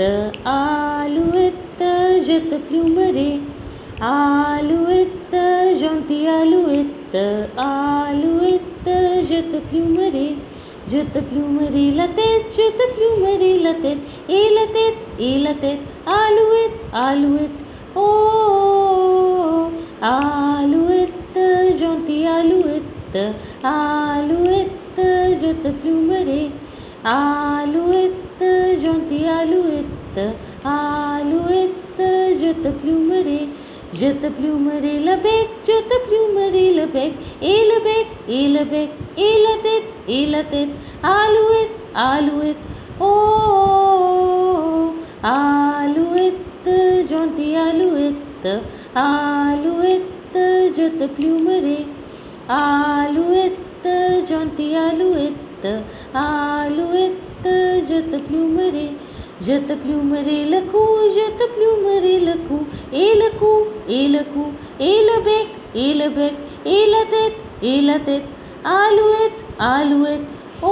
alouette, je te plumerai. Alouette, gentille alouette, alouette, je te plumerai. Je te plumerai la tête, je te plumerai la tête, et la tête, et la tête. Alouette, alouette, oh, alouette, gentille alouette, alouette, je te plumerai. Alouette, gentille alouette, alouette, je te plumerai. Je te plumerai le bec, je te plumerai le bec, et le bec, et le bec, et la tête, et la tête. Alouette, alouette, oh, alouette, gentille alouette, alouette, je te plumerai. Alouette, gentille alouette, alouette, je te plumerai. Je te plumerai le cou, je te plumerai le cou, et le cou, et le cou, et le bec, et le bec, et la tête, et la tête. Alouette, alouette,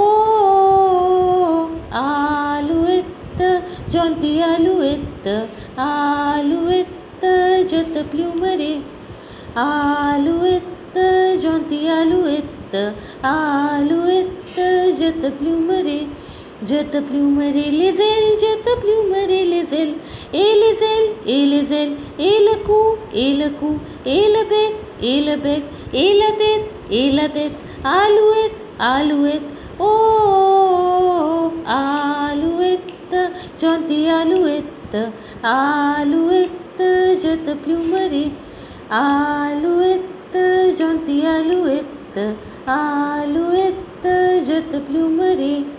oh, alouette, gentille alouette, alouette, je te plumerai. Alouette, gentille alouette, alouette, je te plumerai. Je te plumerai les ailes, je te plumerai les ailes, et les ailes, et les ailes, et le cou, et le cou, et le bec, et le bec, et la tête, et la tête. Alouette, alouette, oh, alouette, gentille alouette, alouette, je te plumerai. Alouette, gentille alouette, alouette, je te plumerai.